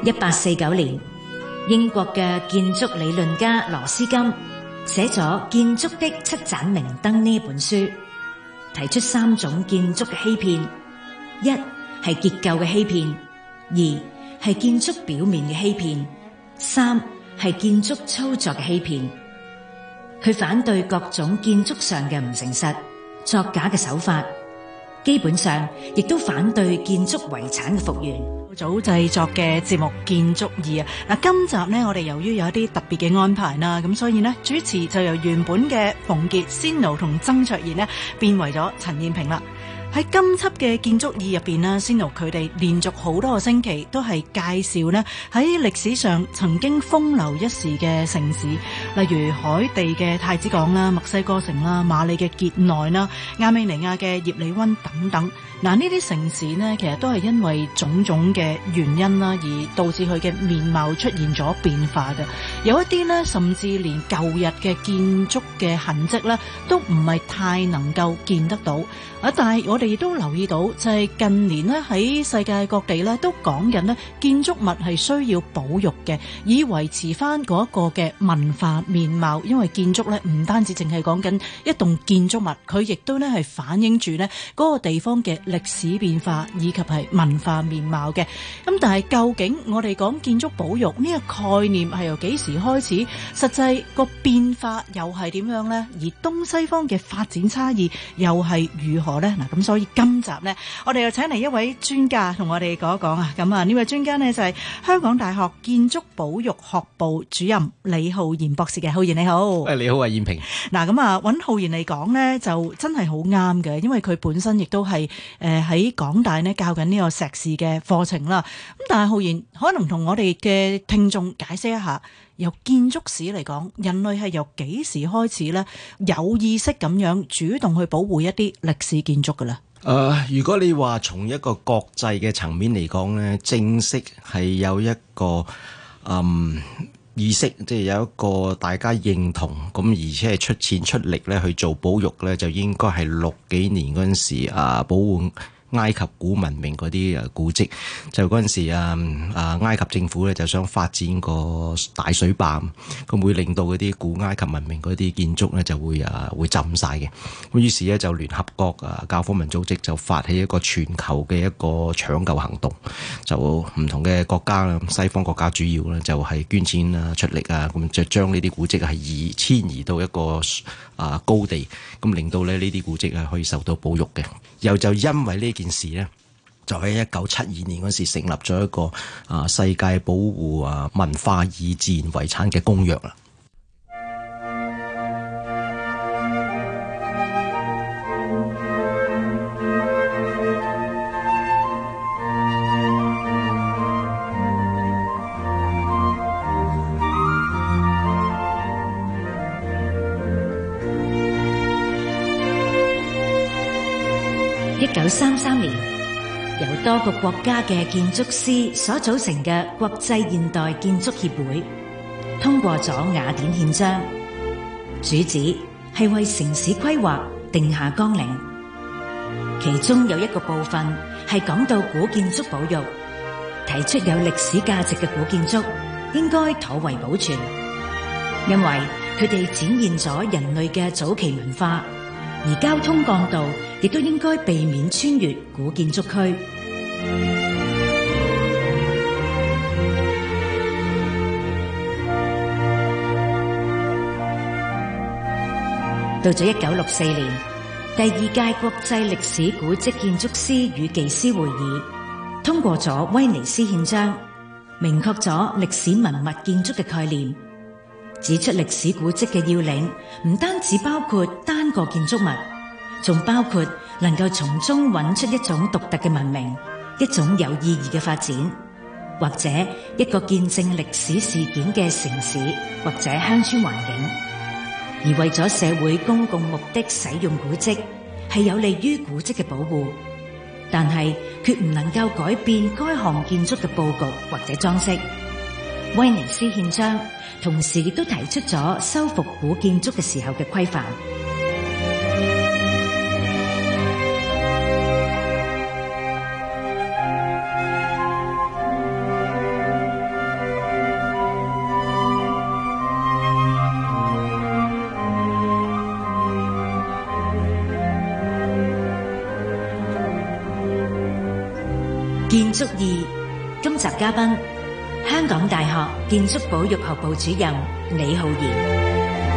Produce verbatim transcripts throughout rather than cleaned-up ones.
一八四九年，英國嘅建築理論家羅斯金寫咗《建築的七盞明燈》呢本書，提出三種建築嘅欺騙：一係結構嘅欺騙，二係建築表面嘅欺騙，三係建築操作嘅欺騙。佢反對各種建築上嘅唔誠實、作假嘅手法，基本上亦都反對建築遺產嘅復原。 早製作嘅節目《建築二》啊，嗱，今集呢，我哋由於有一啲特別嘅安排啦，咁所以呢，主持就由原本嘅馮傑、仙奴同曾卓賢呢，變為咗陳燕萍啦。喺今輯嘅建築二入邊呢，仙奴佢哋連續好多個星期都係介紹呢喺歷史上曾經風流一時嘅城市，例如海地嘅太子港啦、墨西哥城啦、馬里嘅傑內啦、亞美尼亞嘅葉利溫等等。嗱，呢啲城市呢，其實都係因為種種嘅原因啦，而導致佢嘅面貌出現咗變化嘅。有一啲呢，甚至連舊日嘅建築嘅痕跡呢，都唔係太能夠見得到。啊，但係我哋亦都留意到，就係近年呢，喺世界各地呢，都講緊呢建築物係需要保育嘅，以維持翻嗰一個嘅文化面貌。因為建築呢，唔單止淨係講緊一棟建築物，佢亦都呢係反映住呢嗰個地方嘅歷史變化以及係文化面貌嘅。咁但係究竟我哋講建築保育呢個概念係由幾時開始？實際個變化又係點樣呢？而東西方嘅發展差異又係如何呢？嗱，咁所以今集呢，我哋又請嚟一位專家同我哋講一講啊。咁啊，呢位專家呢，就係香港大學建築保育學部主任李浩然博士嘅。浩然你好。 誒，你好啊，燕萍。 嗱，咁啊，揾浩然嚟講呢，就真係好啱嘅，因為佢本身亦都係誒喺港大呢教緊呢個碩士嘅課程啦。咁但係浩然可能同我哋嘅聽眾解釋一下，由建築史嚟講，人類係由幾時開始呢？有意識咁樣主動去保護一啲歷史建築㗎啦？ 誒、呃，如果你話從一個國際嘅層面嚟講呢，正式係有一個嗯意識，即係有一個大家認同，咁而且係出錢出力咧去做保育咧，就應該係六幾年嗰陣時啊，保護埃及古文明嗰啲誒古蹟。就嗰陣時啊啊埃及政府咧就想發展個大水壩，咁會令到嗰啲古埃及文明嗰啲建築咧就會啊會浸晒嘅。咁於是咧就聯合國啊教科文組織就發起一個全球嘅一個搶救行動，就唔同嘅國家啦，西方國家主要咧就係捐錢啊出力啊，咁就將呢啲古蹟係移遷移到一個啊高地，咁令到咧呢啲古蹟係可以受到保育嘅。又就因為呢件事呢，就喺一九七二年嗰時成立咗一個啊世界保護啊文化與自然遺產嘅公約啦。 一九三三年，由多個國家嘅建築師所組成嘅國際現代建築協會通過咗雅典憲章，主旨係為城市規劃定下綱領。其中有一個部分係講到古建築保育，提出有歷史價值嘅古建築應該妥為保存，因為佢哋展現咗人類嘅早期文化。而交通幹道亦都應該避免穿越古建築區。到咗一九六四年，第二屆國際歷史古蹟建築師與技師會議通過咗威尼斯憲章，明確咗歷史文物建築嘅概念，指出歷史古蹟嘅要領唔單止包括單個建築物，仲包括能夠從中揾出一種獨特嘅文明，一種有意義嘅發展，或者一個見證歷史事件嘅城市或者鄉村環境。而為咗社會公共目的使用古蹟，係有利於古蹟嘅保護，但係決唔能夠改變該項建築嘅佈局或者裝飾。威尼斯憲章同時亦都提出咗修復古建築嘅時候嘅規範。 建築二，今集嘉賓香港大學建築保育學部主任李浩然。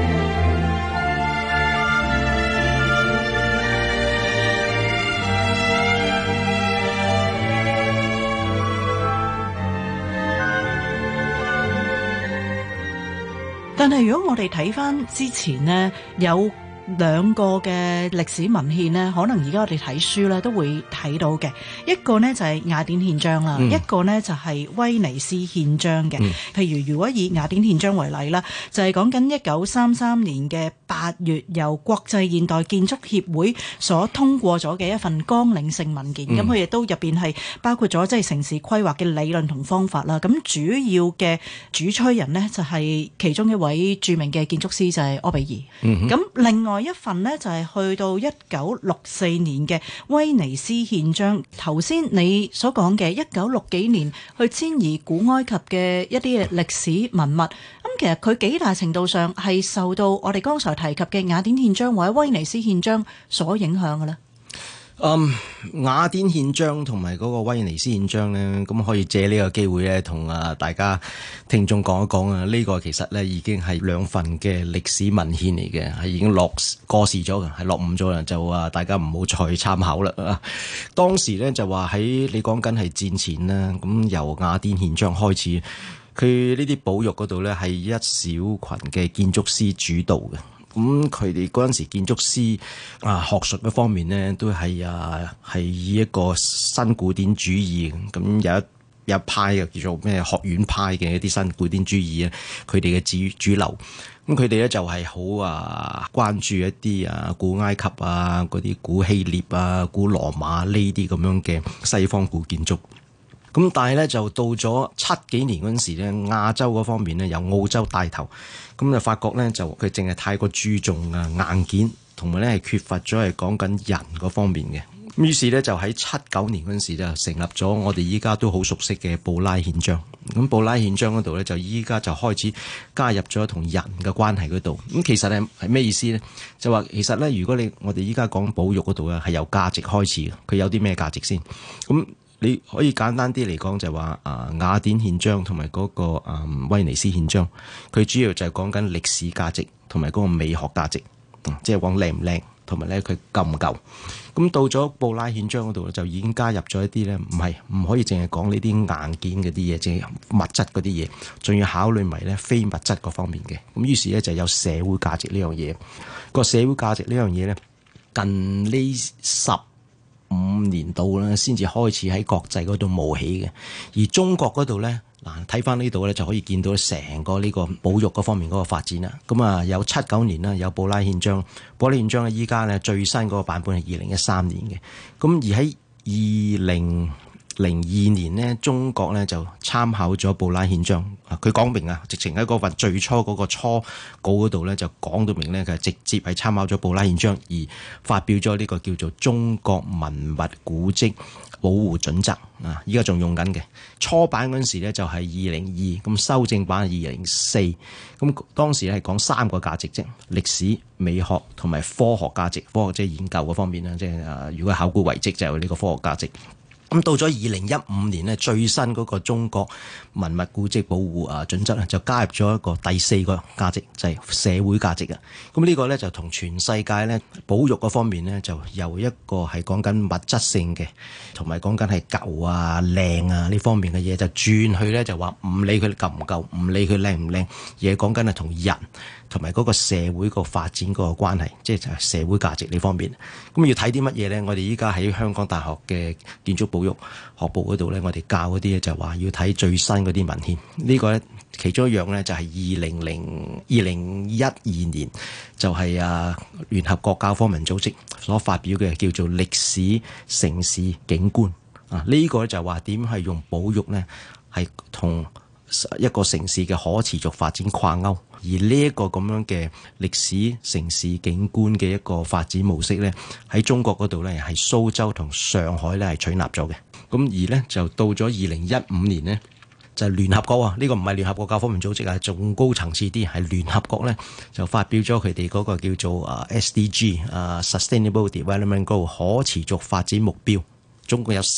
但係如果我哋睇翻之前呢，有兩個嘅歷史文獻呢，可能而家我哋睇書咧都會睇到嘅。一個呢就係雅典憲章啦，嗯、一個呢就係威尼斯憲章嘅。嗯、譬如如果以雅典憲章為例啦，就係講緊一九三三年嘅八月，由國際現代建築協會所通過咗嘅一份綱領性文件。咁佢亦都入邊係包括咗即係城市規劃嘅理論同方法啦。咁主要嘅主催人呢，就係其中一位著名嘅建築師就係柯比爾。咁、嗯、另外一份呢，就係去到一九六四年嘅威尼斯憲章。頭先你所講嘅一九六幾年去遷移古埃及嘅一啲嘅歷史文物，咁其實佢幾大程度上係受到我哋剛才提及嘅雅典憲章或者威尼斯憲章所影響嘅咧？ 嗯，雅典憲章同埋嗰個威尼斯憲章咧，咁可以借呢個機會咧，同啊大家聽眾講一講啊。呢個其實咧已經係兩份嘅歷史文獻嚟嘅，係已經落過時咗嘅，係落伍咗啦，就話大家唔好再參考啦啊。當時咧就話喺你講緊係戰前啦，咁由雅典憲章開始，佢呢啲保育嗰度咧係一小群嘅建築師主導嘅。咁佢哋嗰陣時建築師啊，學術嘅方面呢，都係啊係以一個新古典主義，咁有一有一派嘅叫做咩學院派嘅一啲新古典主義啊，佢哋嘅主主流。咁佢哋咧就係好啊關注一啲啊古埃及啊嗰啲古希臘啊古羅馬呢啲咁樣嘅西方古建築。咁但係咧就到咗七幾年嗰陣時咧，亞洲嗰方面咧由澳洲帶頭，咁就發覺咧就佢淨係太過注重啊硬件，同埋咧係缺乏咗係講緊人嗰方面嘅。咁於是咧就喺七九年嗰陣時就成立咗我哋依家都好熟悉嘅布拉憲章。咁布拉憲章嗰度咧就依家就開始加入咗同人嘅關係嗰度。咁其實係係咩意思咧？就話其實咧，如果你我哋依家講保育嗰度咧係由價值開始嘅，佢有啲咩價值先？咁你可以簡單啲嚟講就係話啊雅典憲章同埋嗰個啊威尼斯憲章，佢主要就係講緊歷史價值同埋嗰個美學價值，即係講靚唔靚，同埋咧佢夠唔夠。咁到咗布拉憲章嗰度就已經加入咗一啲咧，唔係唔可以淨係講呢啲硬件嗰啲嘢，即係物質嗰啲嘢，仲要考慮埋咧非物質嗰方面嘅。咁於是咧就有社會價值呢樣嘢。個社會價值呢樣嘢咧，近呢十五年度咧，先至開始喺國際嗰度冒起嘅。而中國嗰度咧，嗱睇翻呢度咧，就可以見到成個呢個保育嗰方面嗰個發展啦。咁啊，有七九年啦，有布拉憲章，布拉憲章咧，依家咧最新嗰個版本係二零一三年嘅。咁而喺二零零二年呢，中國咧就參考咗布拉憲章。佢講明啊，直情喺嗰份最初嗰個初稿嗰度咧，就講到明咧，佢係直接係參考咗布拉憲章而發表咗呢個叫做《中國文物古蹟保護準則》啊！依家仲用緊嘅。初版嗰陣時咧就係二零二，咁修正版係二零四。咁當時係講三個價值啫，歷史、美學同埋科學價值。科學即係研究嗰方面啦，即係啊，如果考古遺跡就係呢個科學價值。咁到咗二零一五年呢，最新嗰個中國文物古蹟保護啊準則咧，就加入咗一個第四個價值，就係社會價值啊。咁呢個咧就同全世界咧保育嗰方面咧，就由一個係講緊物質性嘅，同埋講緊係舊啊靚啊呢方面嘅嘢，就轉去咧就話唔理佢夠唔夠，唔理佢靚唔靚，而係講緊係同人同埋嗰個社會個發展嗰個關係，即係就係社會價值呢方面。咁要睇啲乜嘢咧？我哋依家喺香港大學嘅建築保育學部嗰度咧，我哋教嗰啲咧就話要睇最新嗰啲文獻。呢個咧其中一樣咧就係二零零二零一二年就係啊聯合國教科文組織所發表嘅叫做歷史城市景觀啊。呢個咧就話點係用保育咧係同一個城市嘅可持續發展掛鈎。而呢一個咁樣嘅歷史城市景觀嘅一個發展模式咧，喺中國嗰度咧係蘇州同上海咧係取納咗嘅。咁而咧就到咗二零一五年呢，就聯合國啊，呢個唔係聯合國教科文組織啊，仲高層次啲，係聯合國咧就發表咗佢哋嗰個叫做啊 S D G 啊 Sustainable Development Goal 可持續發展目標，總共有十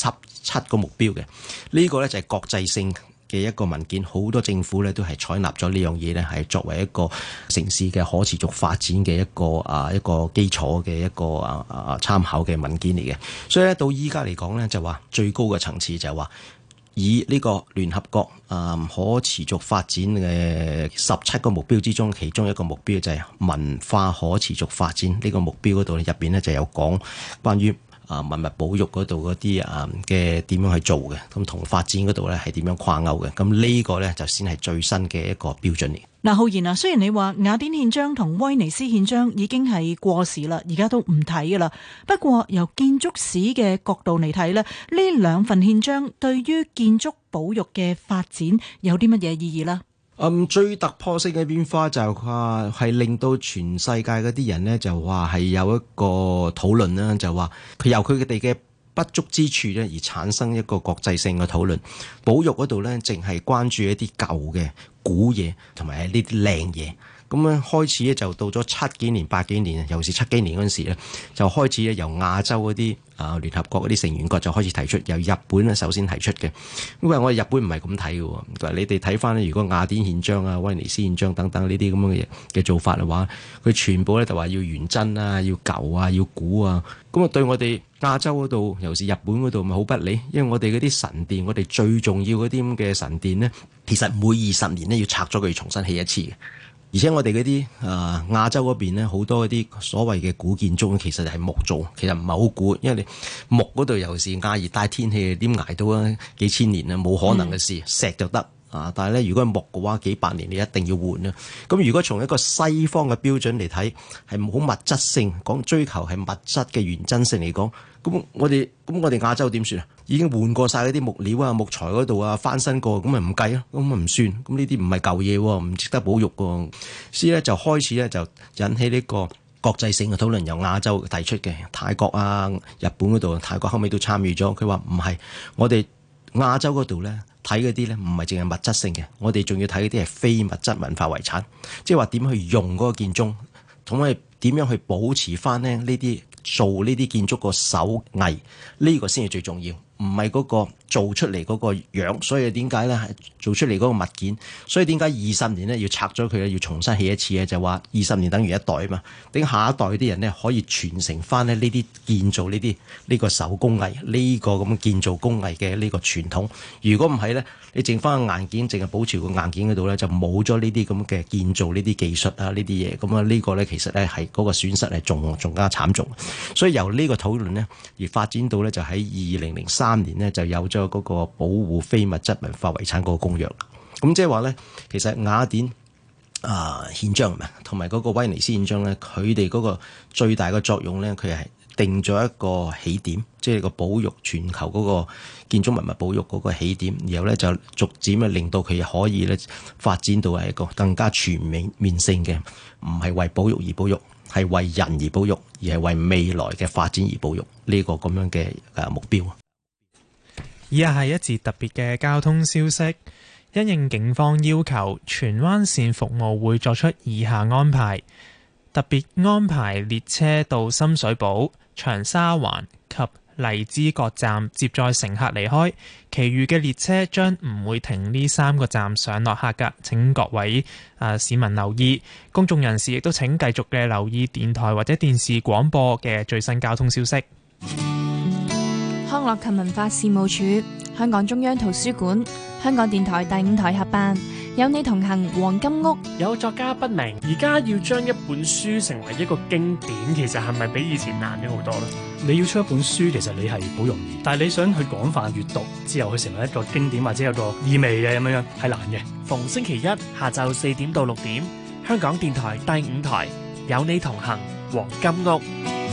七個目標嘅。呢個咧就係國際性嘅一個文件，好多政府咧都係採納咗呢樣嘢咧，係作為一個城市嘅可持續發展嘅一個啊一個基礎嘅一個啊啊參考嘅文件嚟嘅。所以咧到依家嚟講咧，就話最高嘅層次就係話以呢個聯合國啊可持續發展嘅十七個目標之中，其中一個目標就係文化可持續發展呢個目標嗰度入邊咧就有講關於啊文物保育嗰度嗰啲啊嘅點樣去做嘅，咁同發展嗰度咧係點樣跨鈎嘅，咁呢個咧就先係最新嘅一個標準嚟。 嗱，浩然啊，雖然你話雅典憲章同威尼斯憲章已經係過時啦，而家都唔睇噶啦。不過由建築史嘅角度嚟睇咧，呢兩份憲章對於建築保育嘅發展有啲乜嘢意義啦？ 嗯，最突破性嘅變化就係係令到全世界嗰啲人咧就話係有一個討論啦，就話佢由佢哋嘅不足之處咧而產生一個國際性嘅討論。保育嗰度咧，淨係關注一啲舊嘅古嘢同埋呢啲靚嘢。咁樣開始咧就到咗七幾年、八幾年，尤其是七幾年嗰陣時咧，就開始咧由亞洲嗰啲啊聯合國嗰啲成員國就開始提出，由日本咧首先提出嘅。因為我哋日本唔係咁睇嘅，佢話你哋睇翻咧，如果雅典憲章啊、威尼斯憲章等等呢啲咁樣嘅嘢嘅做法嘅話，佢全部咧就話要原真啊、要舊啊、要古啊。咁啊對我哋亞洲嗰度，尤其是日本嗰度，咪好不利，因為我哋嗰啲神殿，我哋最重要嗰啲咁嘅神殿咧，其實每二十年咧要拆咗佢，重新起一次嘅。而且我哋嗰啲誒亞洲嗰邊咧，好多嗰啲所謂嘅古建築其實係木造，其實唔係好古，因為你木嗰度尤其是亞熱帶天氣，點捱到啊幾千年啊，冇可能嘅事，石就得啊！但係咧，如果係木嘅話，幾百年你一定要換啊！咁如果從一個西方嘅標準嚟睇，係好物質性講追求係物質嘅原真性嚟講，咁我哋咁我哋亞洲點算啊？已經換過晒嗰啲木料啊、木材嗰度啊，翻新過，咁咪唔計咯，咁咪唔算。咁呢啲唔係舊嘢喎，唔值得保育喎。所以咧就開始咧就引起呢個國際性嘅討論，由亞洲提出嘅，泰國啊、日本嗰度，泰國後尾都參與咗。佢話唔係，我哋亞洲嗰度咧睇嗰啲咧唔係淨係物質性嘅，我哋仲要睇嗰啲係非物質文化遺產，即係話點去用嗰個建築，同埋點樣去保持翻咧呢啲做呢啲建築個手藝，呢個先係最重要。唔係嗰個做出嚟嗰個樣，所以點解咧係做出嚟嗰個物件？所以點解二十年咧要拆咗佢咧，要重新起一次咧？就話二十年等於一代啊嘛，等下一代啲人咧可以傳承翻咧呢啲建造呢啲呢個手工藝呢個咁建造工藝嘅呢個傳統。如果唔係咧，你剩翻個硬件，淨係保持個硬件嗰度咧，就冇咗呢啲咁嘅建造呢啲技術啊呢啲嘢。咁啊呢個咧其實咧係嗰個損失係仲仲加慘重。所以由呢個討論咧而發展到咧就喺二零零三。三年呢就有咗嗰個保護非物質文化遺產嗰個公約。咁即係話咧，其實雅典啊憲章同埋嗰個威尼斯憲章咧，佢哋嗰個最大嘅作用咧，佢係定咗一個起點，即係個保育全球嗰個建築文物保育嗰個起點，然後咧就逐漸啊令到佢可以咧發展到係一個更加全面面性嘅，唔係為保育而保育，係為人而保育，而係為未來嘅發展而保育呢個咁樣嘅誒目標。 以下係一節特別嘅交通消息，因應警方要求，荃灣線服務會作出以下安排：特別安排列車到深水埗、長沙灣及荔枝角站接載乘客離開，其餘嘅列車將唔會停呢三個站上落客㗎。請各位誒、呃、市民留意，公眾人士亦都請繼續嘅留意電台或者電視廣播嘅最新交通消息。 康樂及文化事務署、香港中央圖書館、香港電台第五台合辦有你同行黃金屋。 有作家不明，而家要將一本書成為一個經典，其實係咪比以前難咗好多呢？ 你要出一本書，其實你係好容易，但係你想去廣泛閱讀之後，去成為一個經典或者有個意味嘅咁樣樣，係難嘅。 逢星期一下晝四點到六點，香港電台第五台有你同行黃金屋。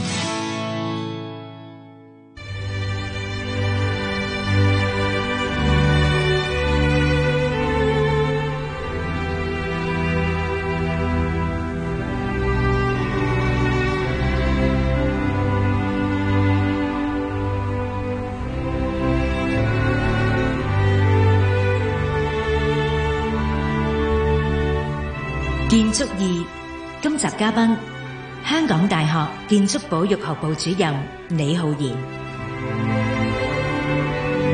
建築二，今集嘉賓香港大學建築保育學部主任李浩然。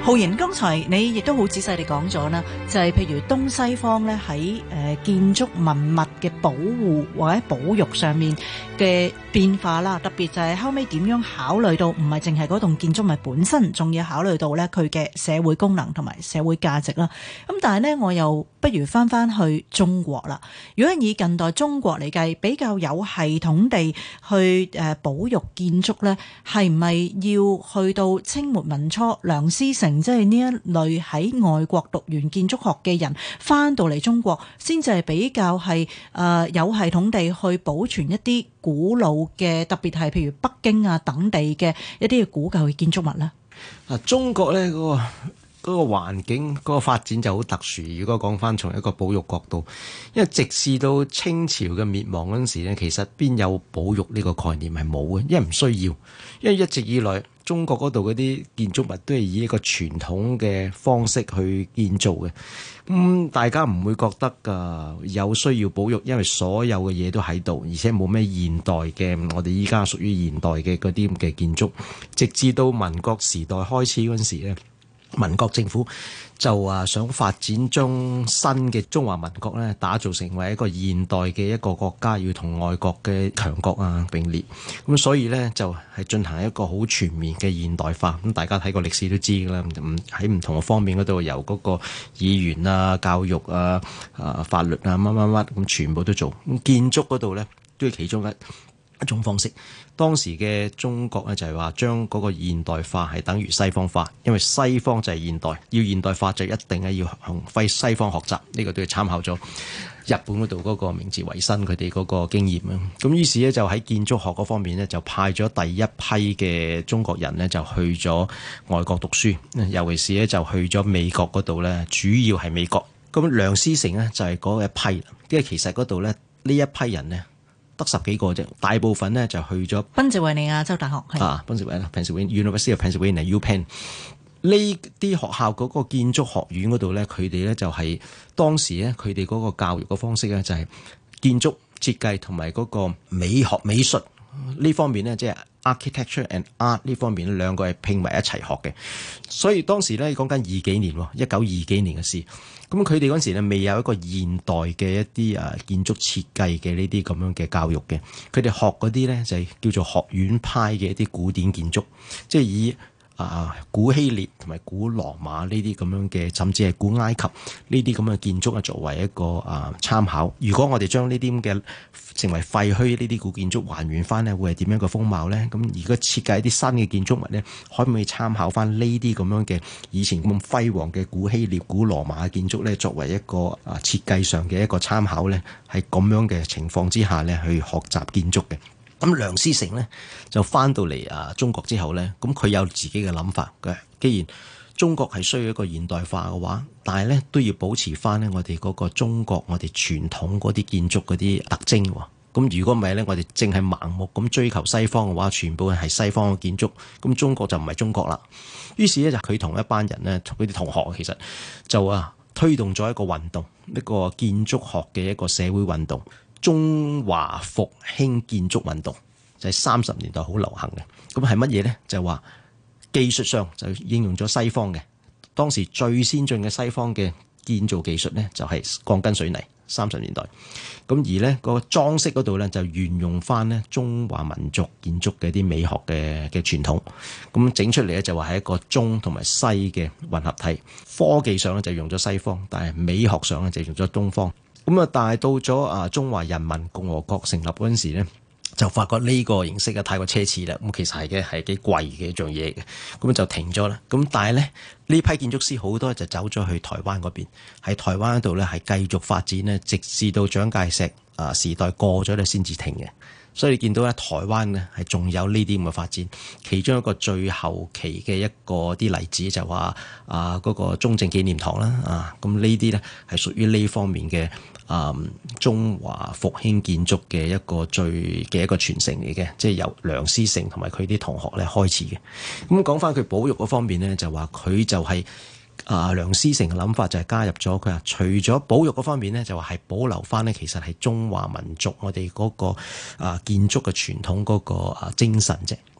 浩然，剛才你亦都好仔細地講咗啦，就係、是、譬如東西方咧喺誒建築文物嘅保護或者保育上面嘅變化啦，特別就係後尾點樣考慮到唔係淨係嗰棟建築物本身，仲要考慮到咧佢嘅社會功能同埋社會價值啦。咁但係咧，我又不如翻翻去中國啦。如果以近代中國嚟計，比較有系統地去誒保育建築咧，係唔係要去到清末民初梁思成？即係呢一類喺外國讀完建築學嘅人翻到嚟中國，先至係比較係誒、呃、有系統地去保存一啲古老嘅，特別係譬如北京啊等地嘅一啲嘅古舊嘅建築物咧。 啊，中國咧嗰、嗰個。嗰個環境嗰、嗰個發展就好特殊。如果講翻從一個保育角度，因為直至到清朝嘅滅亡嗰陣時咧，其實邊有保育呢個概念係冇嘅，因為唔需要。因為一直以來中國嗰度嗰啲建築物都係以一個傳統嘅方式去建造嘅，咁、嗯、大家唔會覺得㗎有需要保育，因為所有嘅嘢都喺度，而且冇咩現代嘅我哋依家屬於現代嘅嗰啲嘅建築。直至到民國時代開始嗰陣時咧。民國政府就話想發展將新嘅中華民國咧打造成為一個現代嘅一個國家，要同外國嘅強國啊並列，咁所以咧就係進行一個好全面嘅現代化。咁大家睇過歷史都知㗎啦，唔喺唔同嘅方面嗰度，由嗰個議員啊、教育啊、啊法律啊乜乜乜咁全部都做。咁建築嗰度咧都係其中一一種方式。當時嘅中國咧就係話將嗰個現代化係等於西方化，因為西方就係現代，要現代化就一定係要向非西方學習。呢、這個都係參考咗日本嗰度嗰個明治維新佢哋嗰個經驗啊。咁於是咧就喺建築學嗰方面咧就派咗第一批嘅中國人咧就去咗外國讀書，尤其是咧就去咗美國嗰度咧，主要係美國。咁梁思成咧就係嗰一批，因為其實嗰度咧呢一批人咧。得十幾個啫，大部分咧就去咗賓夕維尼亞州大學係啊，賓夕維尼亞 Pennsylvania University of Pennsylvania U Penn 呢啲學校嗰個建築學院嗰度咧，佢哋咧就係當時咧佢哋嗰個教育嘅方式咧就係建築設計同埋嗰個美學美術呢方面咧，即係 architecture and art 呢方面兩個係拼埋一齊學嘅。所以當時咧講緊二幾年，一九二幾年嘅事。咁佢哋嗰陣時咧未有一個現代嘅一啲啊建築設計嘅呢啲咁樣嘅教育嘅，佢哋學嗰啲咧就係叫做學院派嘅一啲古典建築，即係以啊古希臘同埋古羅馬呢啲咁樣嘅，甚至係古埃及呢啲咁嘅建築啊作為一個啊參考。如果我哋將呢啲咁嘅成為廢墟呢啲古建築還原翻咧，會係點樣嘅風貌咧？咁如果設計一啲新嘅建築物咧，可唔可以參考翻呢啲咁樣嘅以前咁輝煌嘅古希臘、古羅馬嘅建築咧，作為一個啊設計上嘅一個參考咧？係咁樣嘅情況之下咧，去學習建築嘅。咁梁思成咧就翻到嚟啊中國之後咧，咁佢有自己嘅諗法嘅。既然中國係需要一個現代化嘅話，但係咧都要保持翻咧我哋嗰個中國我哋傳統嗰啲建築嗰啲特徵喎。咁如果唔係咧，我哋淨係盲目咁追求西方嘅話，全部係西方嘅建築，咁中國就唔係中國啦。於是咧就佢同一班人咧，同佢啲同學其實就啊推動咗一個運動，一個建築學嘅一個社會運動。中華復興建築運動就係三十年代好流行嘅，咁係乜嘢咧？就係話技術上就應用咗西方嘅，當時最先進嘅西方嘅建造技術咧就係鋼筋水泥。三十年代，咁而咧個裝飾嗰度咧就沿用翻咧中華民族建築嘅啲美學嘅嘅傳統，咁整出嚟咧就話係一個中同埋西嘅混合體。科技上咧就用咗西方，但係美學上咧就用咗東方。咁啊，但係到咗啊中華人民共和國成立嗰陣時咧，就發覺呢個形式啊太過奢侈啦，咁其實係嘅係幾貴嘅一樣嘢嘅，咁就停咗啦。咁但係咧呢批建築師好多就走咗去台灣嗰邊，喺台灣嗰度咧係繼續發展咧，直至到蔣介石啊時代過咗咧先至停嘅。所以你見到咧台灣咧係仲有呢啲咁嘅發展，其中一個最後期嘅一個啲例子就話啊嗰個中正紀念堂啦啊，咁呢啲咧係屬於呢方面嘅。啊、嗯！中華復興建築嘅一個最嘅一個傳承嚟嘅，即係由梁思成同埋佢啲同學咧開始嘅。咁講翻佢保育嗰方面咧，就話佢就係、是、啊梁思成嘅諗法就係加入咗佢話，除咗保育嗰方面咧，就話係保留翻咧，其實係中華民族我哋嗰、那個啊建築嘅傳統嗰個啊精神啫。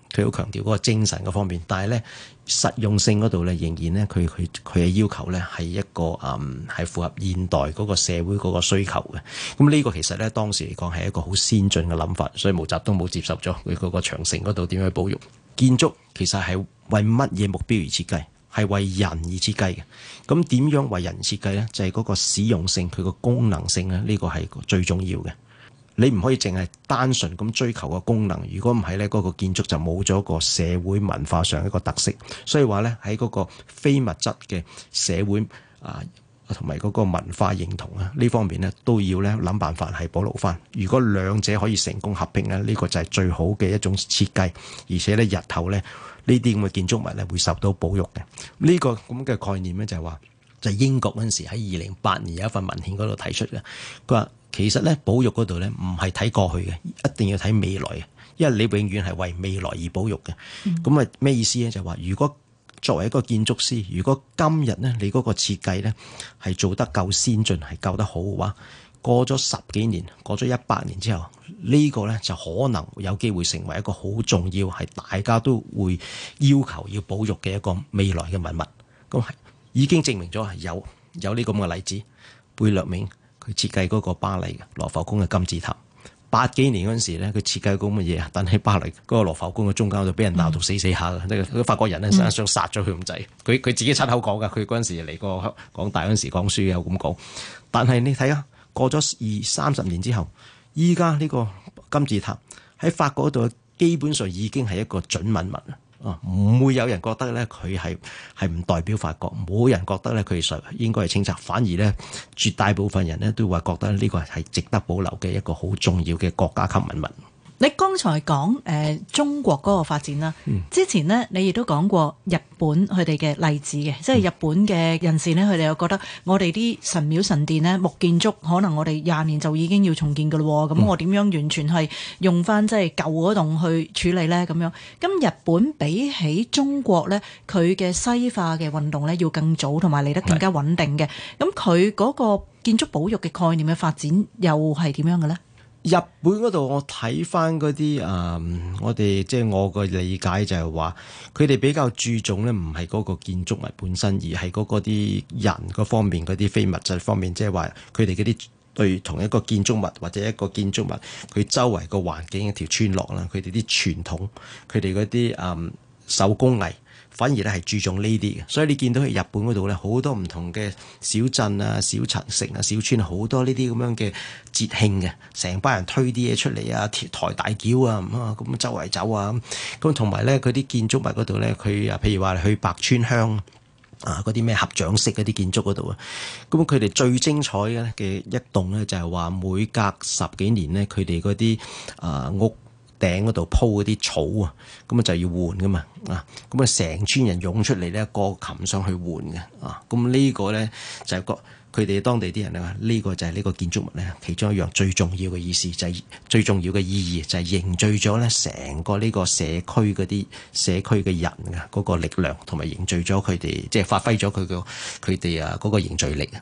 佢好強調嗰個精神嗰方面，但係咧實用性嗰度咧，仍然咧佢佢佢嘅要求咧係一個嗯係符合現代嗰個社會嗰個需求嘅。咁呢個其實咧當時嚟講係一個好先進嘅諗法，所以毛澤東冇接受咗佢嗰個長城嗰度點樣去保育建築，其實係為乜嘢目標而設計？係為人而設計嘅。咁點樣為人設計咧？就係嗰個使用性，佢個功能性咧，呢個係最重要嘅。你唔可以淨係單純咁追求個功能，如果唔係咧，嗰個建築就冇咗個社會文化上一個特色。所以話咧，喺嗰個非物質嘅社會啊，同埋嗰個文化認同啊呢方面咧，都要咧諗辦法係保留翻。如果兩者可以成功合併咧，呢個就係最好嘅一種設計，而且咧日後咧呢啲咁嘅建築物咧會受到保育嘅。呢個咁嘅概念咧就係話，就係英國嗰陣時喺二零八年有一份文獻嗰度提出嘅，佢話。其實咧，保育嗰度咧唔係睇過去嘅，一定要睇未來嘅，因為你永遠係為未來而保育嘅。咁啊咩意思咧？就係話，如果作為一個建築師，如果今日咧你嗰個設計咧係做得夠先進，係夠得好嘅話，過咗十幾年，過咗一百年之後，呢個咧就可能有機會成為一個好重要，係大家都會要求要保育嘅一個未來嘅文物。咁係已經證明咗係有有呢咁嘅例子，貝聿銘。佢設計嗰個巴黎嘅羅浮宮嘅金字塔，八幾年嗰陣時咧，佢設計嗰咁嘅嘢啊，但喺巴黎嗰個羅浮宮嘅中間就俾人鬧到死死下嘅，即係嗰法國人咧想想殺咗佢咁滯。佢佢自己親口講㗎，佢嗰陣時嚟過港大嗰陣時講書有咁講。但係你睇下，過咗二三十年之後，依家呢個金字塔喺法國嗰度，基本上已經係一個準文物啦。啊，唔會有人覺得咧佢係係唔代表法國，冇人覺得咧佢實應該係清拆，反而咧絕大部分人咧都會覺得呢個係值得保留嘅一個好重要嘅國家級文物。 你剛才講誒、呃、中國嗰個發展啦，嗯、之前呢，你亦都講過日本佢哋嘅例子嘅，即係日本嘅人士呢，佢哋又覺得我哋啲神廟神殿呢，木建築可能我哋廿年就已經要重建㗎咯，咁、嗯、我點樣完全係用翻即係舊嗰棟去處理呢？咁樣，咁日本比起中國呢，佢嘅西化嘅運動呢，要更早同埋嚟得更加穩定嘅，咁佢嗰個建築保育嘅概念嘅發展又係點樣嘅呢？ 日本嗰度我睇翻嗰啲誒，我哋即係我個理解就係話，佢哋比較注重咧，唔係嗰個建築物本身，而係嗰個啲人嗰方面嗰啲非物質方面，即係話佢哋嗰啲對同一個建築物或者一個建築物，佢周圍個環境一條村落啦，佢哋啲傳統，佢哋嗰啲誒手工藝。反而咧係注重呢啲嘅，所以你見到喺日本嗰度咧，好多唔同嘅小鎮啊、小城啊、小村，好多呢啲咁樣嘅節慶嘅，成班人推啲嘢出嚟啊，抬大轎啊，咁咁周圍走啊，咁同埋咧佢啲建築物嗰度咧，佢啊譬如話去白川鄉啊嗰啲咩合掌式嗰啲建築嗰度啊，咁佢哋最精彩嘅嘅一棟咧就係話每隔十幾年咧，佢哋嗰啲啊屋頂嗰度鋪嗰啲草啊，咁啊就要換噶嘛，啊，咁啊成村人湧出嚟咧，過擒上去換嘅，啊，咁呢個咧就係個佢哋當地啲人咧話，呢個就係呢個建築物咧其中一樣最重要嘅意思，就係最重要嘅意義，就係凝聚咗咧成個呢個社區嗰啲社區嘅人嘅嗰個力量，同埋凝聚咗佢哋，即係發揮咗佢個佢哋啊嗰個凝聚力啊。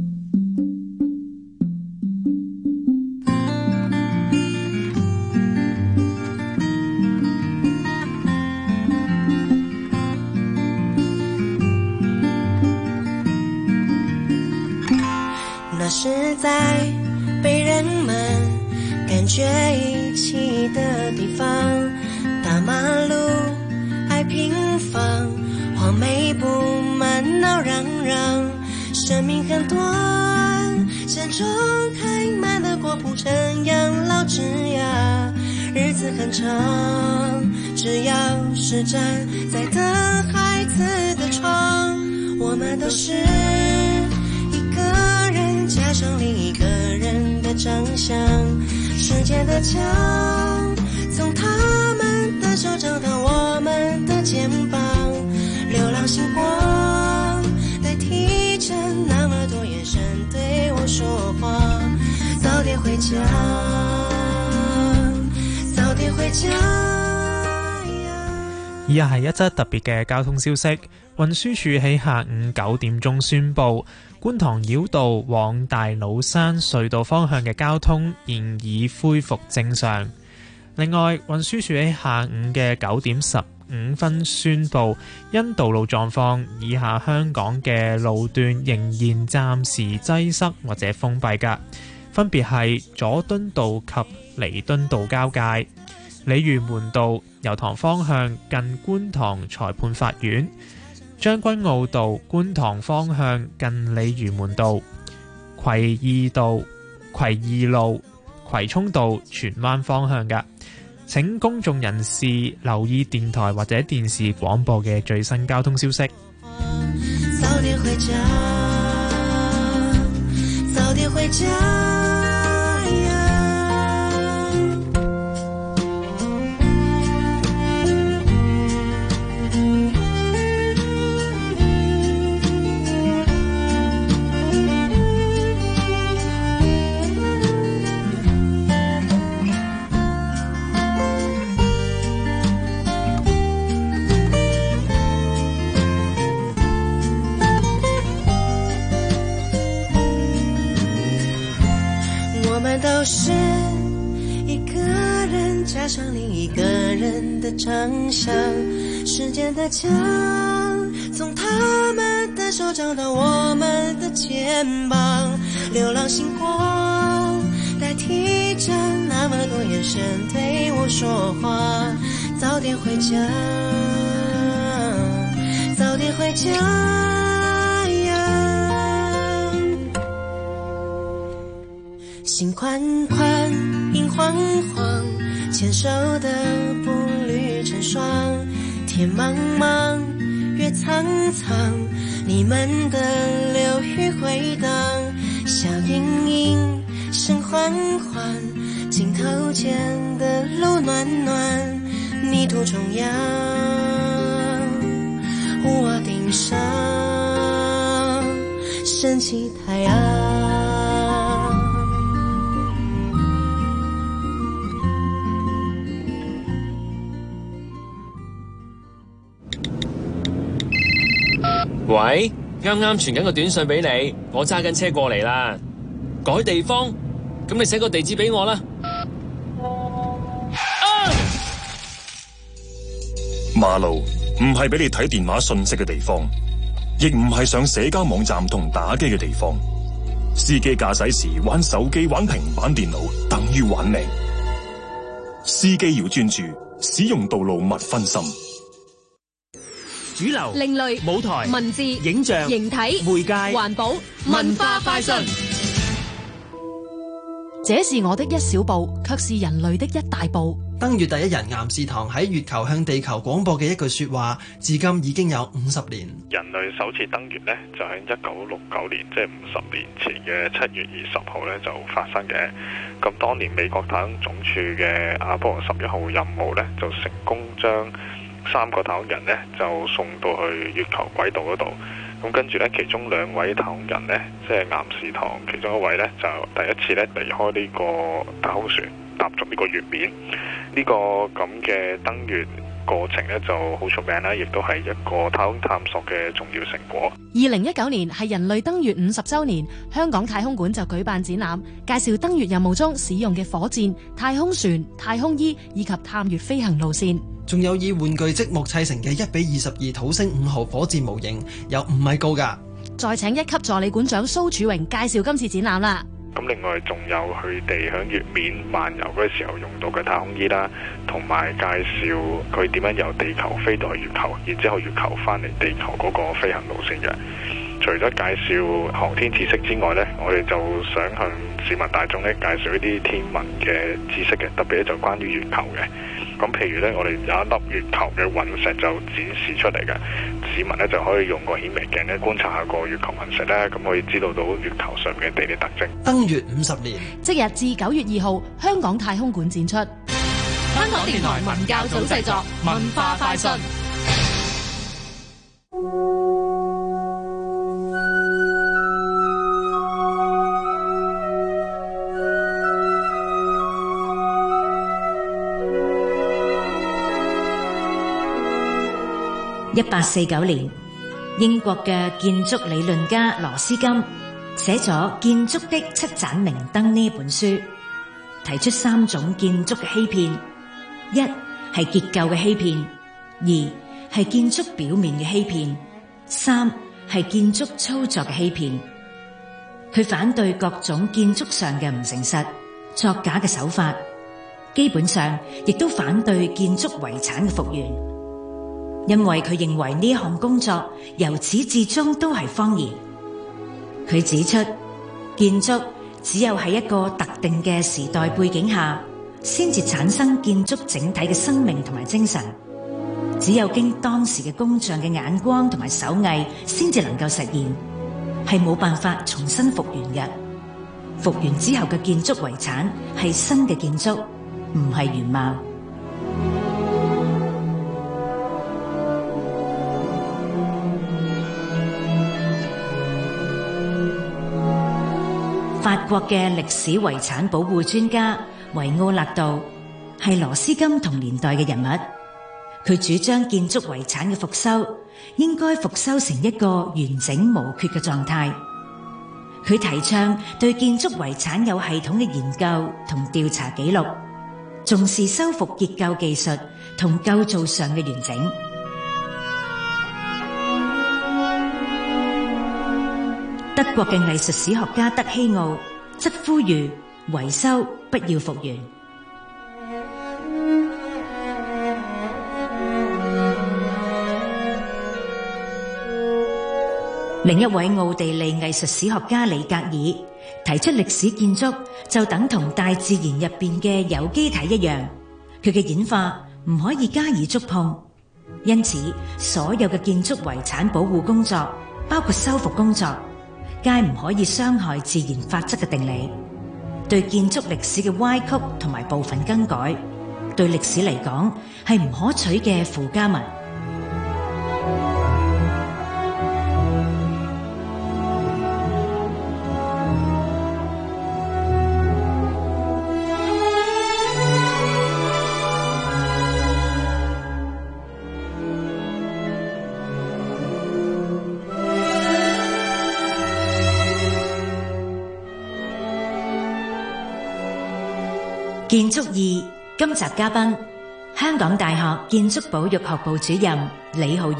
那是在被人們感覺遺棄的地方，大馬路愛平房，黃梅布滿鬧嚷嚷，生命很短，山中開滿了果鋪成養老枝椏，日子很長，只要是站在等孩子的窗，我們都是加上另一個人的長相，時間的牆從他們的手掌到我們的肩膀，流浪星光代替着那麼多眼神對我說話，早點回家，早點回家。 以下係一則特別嘅交通消息，運輸署喺下午九點鐘宣布，觀塘繞道往大老山隧道方向嘅交通現已恢復正常。 另外，運輸署喺下午嘅九點十五分宣布，因道路狀況，以下香港嘅路段仍然暫時擠塞或者封閉㗎，分別係佐敦道及彌敦道交界、鯉魚門道油塘方向近觀塘裁判法院、將軍澳道觀塘方向近鯉魚門道、葵義道葵義路葵涌道荃灣方向嘅。請公眾人士留意電台或者電視廣播嘅最新交通消息。 早點回家，早點回家呀。都是一個人加上另一個人的長相，時間的牆從他們的手掌到我們的肩膀，流浪星光代替着那麼多眼神對我說話，早點回家，早點回家心寬寬，影晃晃，牽手的步履成雙。天茫茫，月蒼蒼，你們的流語回盪。笑盈盈，聲緩緩，鏡頭前的路暖暖。泥土中央，屋瓦頂上，升起太陽。 喂，啱啱傳緊個短信俾你，我揸緊車過嚟啦。改地方，咁你寫個地址俾我啦。啊！ 馬路唔係俾你睇電話信息嘅地方，亦唔係上社交網站同打機嘅地方。司機駕駛時玩手機、玩平板電腦，等於玩命。司機要專注，使用道路勿分心。 主流、 另類、 舞台、 文字、 影像、 形體、 媒介、 環保、文化快訊。 這是我的一小步，卻是人類的一大步。 登月第一人岩士堂喺月球向地球廣播嘅一句說話，至今已經有五十年。 人類首次登月呢，就喺一九六九年，即係五十年前嘅七月二十號呢就發生嘅。咁當年美國太空總署嘅阿波羅十一號任務呢，就成功將三個太空人呢就送到去月球軌道嗰度。咁跟住呢，其中兩位太空人呢，即係岩士堂其中一位呢，就第一次呢離開呢個太空船，踏足呢個月面。呢個咁嘅登月過程呢就好出名啦，亦都係一個太空探索嘅重要成果。 二零一九年係人類登月五十週年，香港太空館就舉辦展覽，介紹登月任務中使用嘅火箭、太空船、太空衣以及探月飛行路線。 仲有以玩具積木砌成嘅一比二十二土星五號火箭模型，有五米高㗎。 再請一級助理館長蘇柱榮介紹今次展覽啦。 咁另外仲有佢哋喺月面漫遊嗰時候用到嘅太空衣啦，同埋介紹佢點樣由地球飛到月球，然之後月球翻嚟地球嗰個飛行路線嘅。除咗介紹航天知識之外呢，我哋就想向市民大眾咧介紹一啲天文嘅知識嘅，特別咧就關於月球嘅。咁譬如呢，我哋有一粒月球嘅隕石就展示出嚟嘅，市民呢就可以用個顯微鏡咧觀察下個月球隕石咧，咁可以知道到月球上面嘅地理特徵。 登月五十年， 即日至九月二號，香港太空館展出。 香港電台文教組製作，文化快訊。 一八四九年，英國嘅建築理論家羅斯金寫咗《建築的七盞明燈》呢本書，提出三種建築嘅欺騙， 一係結構嘅欺騙，二係建築表面嘅欺騙，三係建築操作嘅欺騙。佢反對各種建築上嘅唔誠實、作假嘅手法，基本上亦都反對建築遺產嘅復原，因為佢認為呢項工作由始至終都係謊言。佢指出，建築只有喺一個特定嘅時代背景下，先至產生建築整體嘅生命同埋精神。只有經當時嘅工匠嘅眼光同埋手藝，先至能夠實現，係冇辦法重新復原嘅。復原之後嘅建築遺產係新嘅建築，唔係原貌。法國嘅歷史遺產保護專家維奧勒道係羅斯金同年代嘅人物，佢主張建築遺產嘅復修應該復修成一個完整無缺嘅狀態。佢提倡對建築遺產有系統嘅研究同調查記錄，重視修復結構技術同構造上嘅完整。德國嘅藝術史學家德希奧則呼籲維修，不要復原。另一位奧地利藝術史學家里格爾提出，歷史建築就等同大自然入邊嘅有機體一樣，佢嘅演化唔可以加以觸碰，因此所有嘅建築遺產保護工作，包括修復工作，皆唔可以傷害自然法則嘅定理。對建築歷史嘅歪曲同埋部分更改，對歷史嚟講係唔可取嘅附加物。建築二今集嘉賓，香港大學建築保育學部主任李浩然。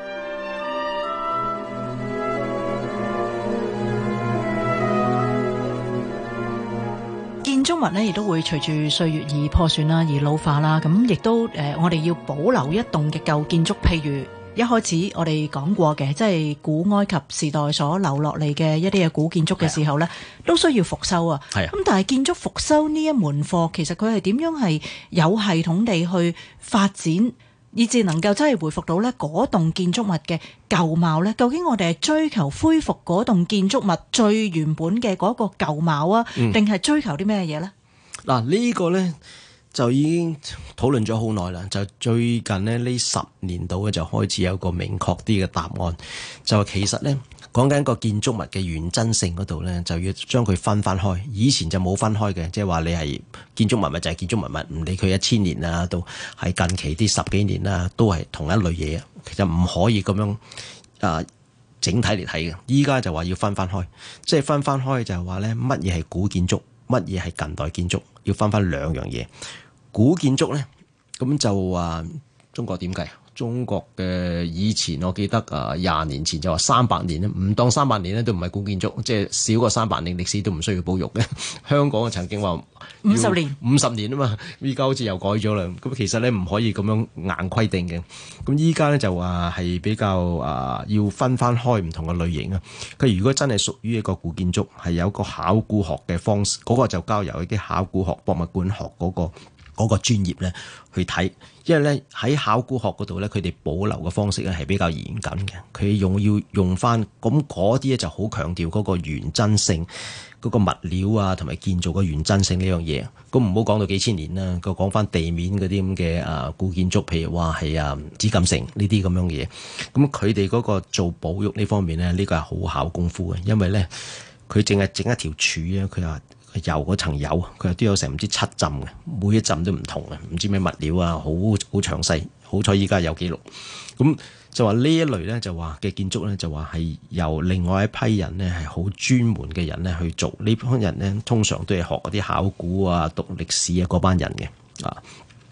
建築物咧，亦都會隨住歲月而破損啦，而老化啦。咁亦都誒、呃，我哋要保留一棟嘅舊建築，譬如一開始我哋講過嘅，即係古埃及時代所留落嚟嘅一啲嘅古建築嘅時候咧，都需要復修啊。係啊。咁但係建築復修呢一門課，其實佢係點樣係有系統地去發展，以至能夠真係恢復到咧嗰棟建築物嘅舊貌咧？究竟我哋係追求恢復嗰棟建築物最原本嘅嗰個舊貌啊，定係追求啲咩嘢咧？ 嗱、嗯，呢個咧就已經討論咗好耐啦。就最近咧呢十年度咧就開始有個明確啲嘅答案，就係其實咧講緊個建築物嘅原真性嗰度咧，就要將佢分翻開。以前就冇分開嘅，即係話你係建築物咪就係建築物物，唔理佢一千年啊，到係近期啲十幾年啦，都係同一類嘢。其實唔可以咁樣啊整體嚟睇嘅。依家就話要分翻開，即係分翻開就係話咧乜嘢係古建築，乜嘢係近代建築，要分翻兩樣嘢。古建築咧，咁就話中國點計？中國嘅以前我記得啊，廿年前就話三百年咧，唔當三百年咧都唔係古建築，即係少過三百年歷史都唔需要保育嘅。香港曾經話五十年， 五十年啊嘛，依家好似又改咗啦。咁其實咧唔可以咁樣硬規定嘅。咁依家咧就話係比較啊，要分翻開唔同嘅類型啊。佢如果真係屬於一個古建築，係有個考古學嘅方式，嗰個就交由一啲考古學、博物館學嗰個。嗰個專業咧去睇，因為咧喺考古學嗰度咧，佢哋保留嘅方式咧係比較嚴謹嘅。佢用要用翻咁嗰啲咧就好強調嗰個原真性，嗰、嗰個物料啊同埋建造嘅原真性呢樣嘢。咁唔好講到幾千年啦，佢講翻地面嗰啲咁嘅啊古建築，譬如話係啊紫禁城呢啲咁樣嘅嘢。咁佢哋嗰個做保育呢方面咧，呢、呢個係好考功夫嘅，因為咧佢淨係整一條柱啊，佢話。油嗰層油，佢都有成唔知七浸嘅，每一浸都唔同嘅，唔知咩物料啊，好好詳細。好彩依家有記錄，咁就話呢一類咧，就話嘅建築咧，就話係由另外一批人咧，係好專門嘅人咧去做。呢班人咧，通常都係學嗰啲考古啊、讀歷史啊嗰班人嘅啊。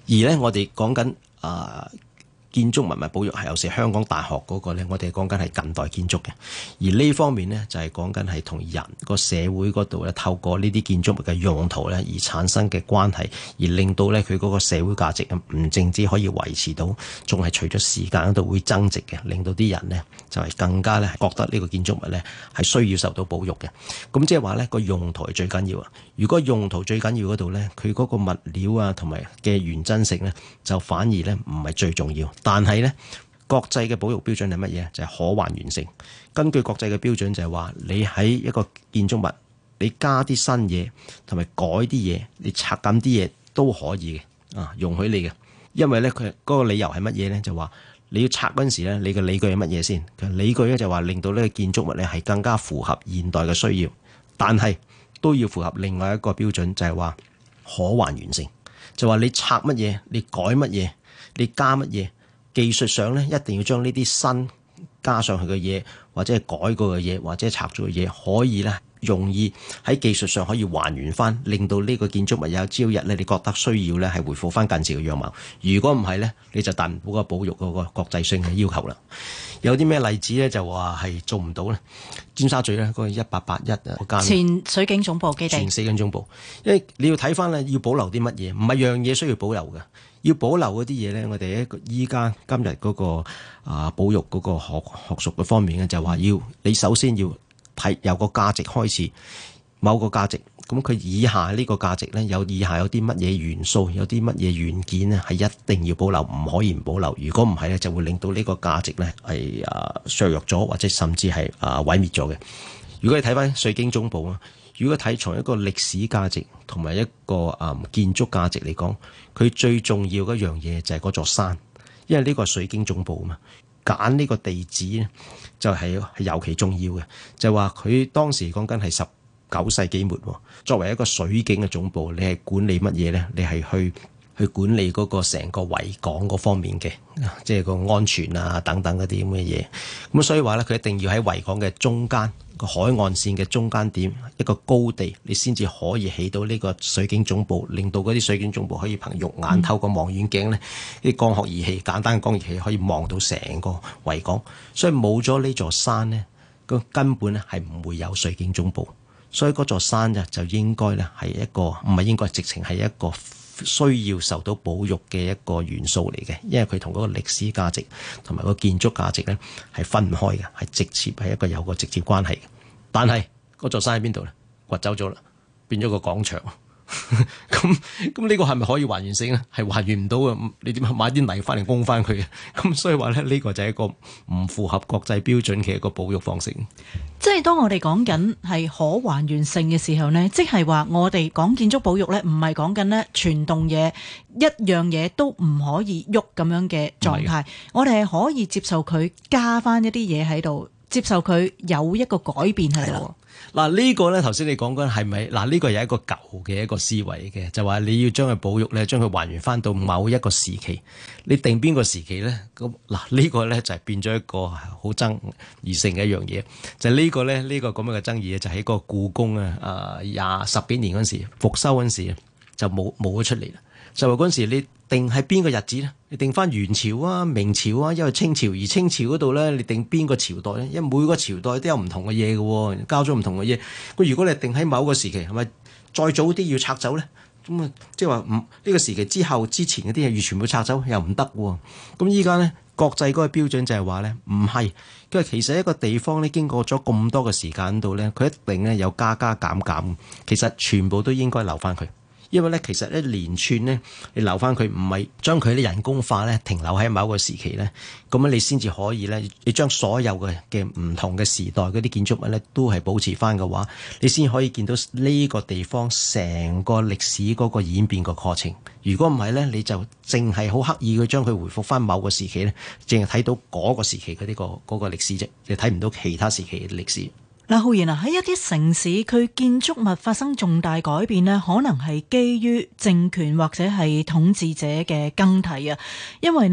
而咧，我哋講緊啊建築文物保育係有時香港大學嗰個咧，我哋講緊係近代建築嘅，而呢方面呢，就係講緊係同人個社會嗰度咧，透過呢啲建築物嘅用途咧而產生嘅關係，而令到咧佢嗰個社會價值唔淨止可以維持到，仲係隨咗時間嗰度會增值嘅，令到啲人呢，就係更加咧覺得呢個建築物咧係需要受到保育嘅。咁即係話咧個用途係最緊要啊！如果用途最緊要嗰度咧，佢嗰個物料啊同埋嘅原真性咧，就反而咧唔係最重要。但係咧，國際嘅保育標準係乜嘢？就係、是、可還原性。根據國際嘅標準就係話，你喺一個建築物，你加啲新嘢同埋改啲嘢，你拆減啲嘢都可以嘅，啊，容許你嘅。因為咧，佢嗰個理由係乜嘢咧？就話你要拆嗰陣時咧，你嘅理據係乜嘢先？佢理據咧就話令到呢個建築物咧係更加符合現代嘅需要，但係都要符合另外一個標準，就係、是、話可還原性。就話你拆乜嘢，你改乜嘢，你加乜嘢。技術上咧，一定要將呢啲新加上去嘅嘢，或者係改過嘅嘢，或者拆咗嘅嘢，可以咧容易喺技術上可以還原翻，令到呢個建築物有朝日咧，你覺得需要咧係回復翻近時嘅樣貌。如果唔係咧，你就達唔到個保育嗰個國際性嘅要求啦。有啲咩例子咧？就話係做唔到咧。尖沙咀咧嗰個一八八一啊間前水警總部基地， 前水警總部，因為你要睇翻咧，要保留啲乜嘢？唔係樣嘢需要保留嘅。要保留嗰啲嘢咧，我哋一個依家今日嗰個啊保育嗰個學學術嘅方面咧，就話要你首先要睇由個價值開始，某個價值，咁佢以下呢個價值咧，有以下有啲乜嘢元素，有啲乜嘢元件咧，係一定要保留，唔可以唔保留。如果唔係咧，就會令到呢個價值咧係啊削弱咗，或者甚至係啊毀滅咗嘅。如果你睇翻水警總部啊。如果睇從一個歷史價值同埋一個誒、嗯、建築價值嚟講，佢最重要嘅一樣嘢就係嗰座山，因為呢個係水警總部啊嘛，揀呢個地址咧就係係尤其重要嘅，就係話佢當時講緊係十九世紀末，作為一個水警嘅總部，你係管理乜嘢咧？你係去去管理嗰個成個維港嗰方面嘅，即係個安全啊等等嗰啲咁嘅嘢。咁所以話咧，佢一定要喺維港嘅中間。個海岸線嘅中間點一個高地，你先至可以起到呢個水警總部，令到嗰啲水警總部可以憑肉眼透過望遠鏡呢啲光學儀器，簡單嘅光學儀器可以望到成個維港。所以冇咗呢座山呢，個根本咧係唔會有水警總部。所以嗰座山呢，就應該咧係一個唔係應該，直情係一個需要受到保育嘅一個元素嚟嘅，因為佢同嗰個歷史價值同埋個建築價值咧係分唔開嘅，係直接係一個有個直接關係嘅。但係嗰座山喺邊度咧？掘走咗啦，變咗個廣場。咁咁呢個係咪可以還原性咧？係還原唔到嘅。你點買啲泥翻嚟供翻佢嘅？咁所以話咧，呢個就係一個唔符合國際標準嘅一個保育方式。 即係當我哋講緊係可還原性嘅時候呢，即係話我哋講建築保育呢，唔係講緊呢全棟嘢一樣嘢都唔可以喐咁樣嘅狀態。我哋係可以接受佢加翻一啲嘢喺度，接受佢有一個改變喺度。 嗱，呢個咧頭先你講緊係咪？嗱，呢個係一個舊嘅一個思維嘅，就話你要將佢保育咧，將佢還原翻到某一個時期。你定邊個時期咧？咁嗱，呢個咧就係變咗一個好爭議性嘅一樣嘢。就係呢個咧，呢個咁樣嘅爭議就喺個故宮啊，啊廿十幾年嗰陣時復修嗰陣時就冇冇咗出嚟啦。就話嗰陣時你定係邊個日子咧？你定翻元朝啊、明朝啊，因為清朝，而清朝嗰度咧，你定邊個朝代咧？因為每個朝代都有唔同嘅嘢嘅，交咗唔同嘅嘢。咁如果你定喺某個時期，係咪再早啲要拆走咧？咁啊，即係話唔呢個時期之後之前嗰啲嘢要全部拆走又唔得喎。咁依家咧國際嗰個標準就係話咧唔係，因為其實一個地方咧經過咗咁多嘅時間度咧，佢一定咧有加加減減，其實全部都應該留翻佢。因為咧，其實一連串咧，你留翻佢，唔係將佢啲人工化咧，停留喺某一個時期咧，咁樣你先至可以咧，你將所有嘅嘅唔同嘅時代嗰啲建築物咧，都係保持翻嘅話，你先可以見到呢個地方成個歷史嗰個演變個過程。如果唔係咧，你就淨係好刻意去將佢回復翻某個時期咧，淨係睇到嗰個時期嘅呢個嗰個歷史啫，你睇唔到其他時期嘅歷史。 嗱，浩然啊，喺一啲城市，佢建築物發生重大改變呢，可能係基於政權或者係統治者嘅更替啊。因為呢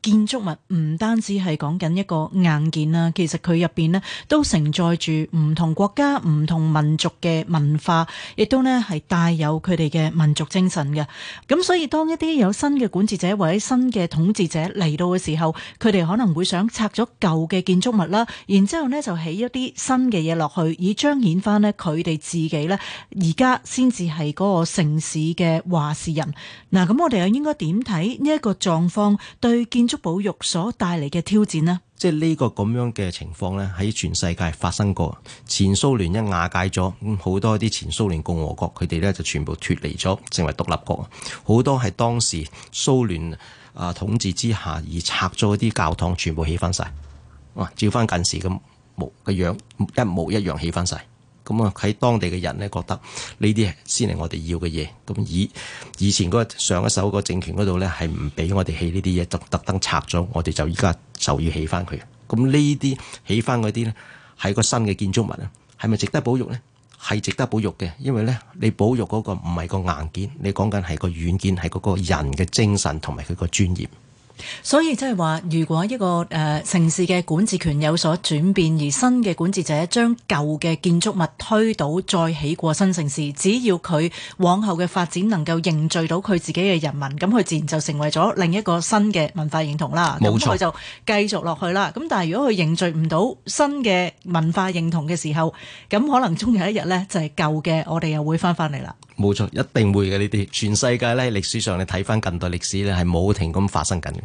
建築物唔單止係講緊一個硬件啦，其實佢入邊呢都承載住唔同國家、唔同民族嘅文化，亦都呢係帶有佢哋嘅民族精神嘅。咁所以當一啲有新嘅管治者或者新嘅統治者嚟到嘅時候，佢哋可能會想拆咗舊嘅建築物啦，然之後呢就起一啲新嘅嘢落去，以彰顯翻呢佢哋自己呢而家先至係嗰個城市嘅話事人。嗱，咁我哋又應該點睇呢一個狀況對建築保育所帶嚟嘅挑戰呢？ 即係呢個咁樣嘅情況呢，喺全世界發生過。前蘇聯一瓦解咗，咁好多啲前蘇聯共和國佢哋呢就全部脫離咗，成為獨立國。好多係當時蘇聯啊統治之下而拆咗啲教堂，全部起翻晒。哇！照翻近時咁模嘅樣，一模一樣起翻晒。咁啊喺當地嘅人呢覺得呢啲先係我哋要嘅嘢。咁以以前嗰上一手個政權嗰度呢係唔俾我哋起呢啲嘢，特特登拆咗，我哋就依家就要起翻佢。咁呢啲起翻嗰啲呢係個新嘅建築物啊，係咪值得保育呢？係值得保育嘅，因為呢你保育嗰個唔係個硬件，你講緊係個軟件，係嗰個人嘅精神同埋佢個專業。 所以即係話，如果一個誒、呃、城市嘅管治權有所轉變，而新嘅管治者將舊嘅建築物推倒，再起過新城市，只要佢往後嘅發展能夠凝聚到佢自己嘅人民，咁佢自然就成為咗另一個新嘅文化認同啦。 冇錯， 咁佢就繼續落去啦。咁但係如果佢凝聚唔到新嘅文化認同嘅時候，咁可能終有一日呢，就係舊嘅，我哋又會翻翻嚟啦。 冇錯，一定會嘅呢啲。全世界咧歷史上，你睇翻近代歷史咧，係冇停咁發生緊嘅。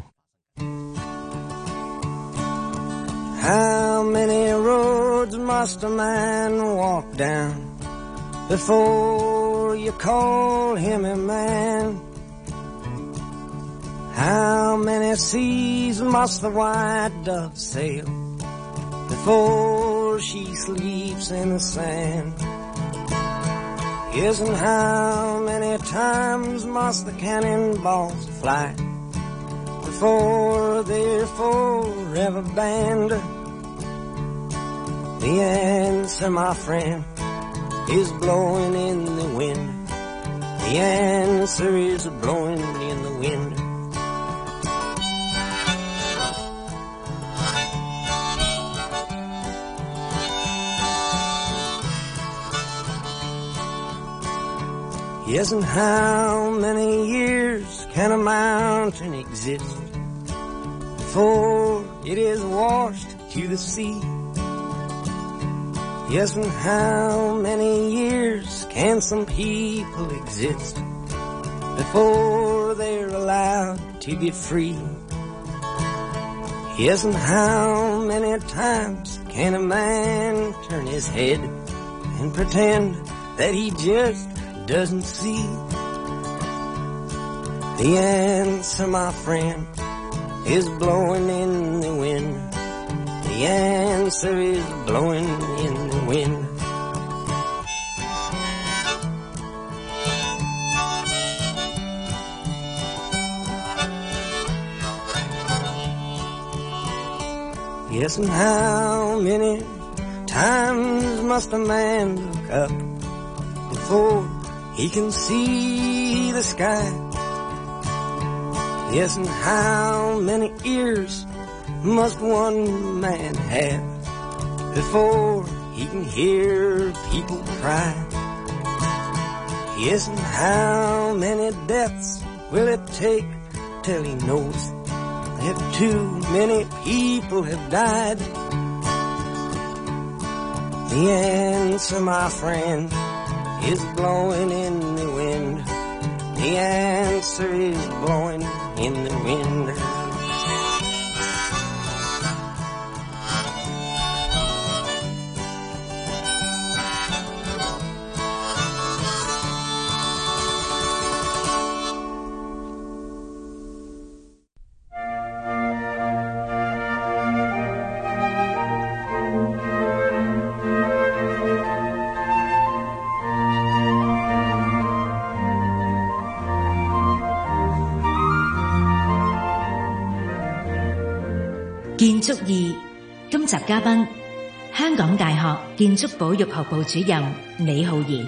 How many roads must a man walk down before you call him a man? How many seas must the white dove sail before she sleeps in the sand? Yes, and how many times must the cannonballs fly before they're forever banned? The answer, my friend, is blowing in the wind. The answer is blowing in the wind. Yes, and how many years can a mountain exist before it is washed to the sea? Yes, and how many years can some people exist before they're allowed to be free? Yes, and how many times can a man turn his head and pretend that he just doesn't see? The answer, my friend, is blowing in the wind. The answer is blowing in the wind. Yes, and how many times must a man look up before he can see the sky? Yes, and how many ears must one man have before he can hear people cry? Yes, and how many deaths will it take till he knows that too many people have died? The answer, my friend, is blowing in the wind. The answer is blowing in the wind. 建築二，今集嘉賓香港大學建築保育學部主任李浩然。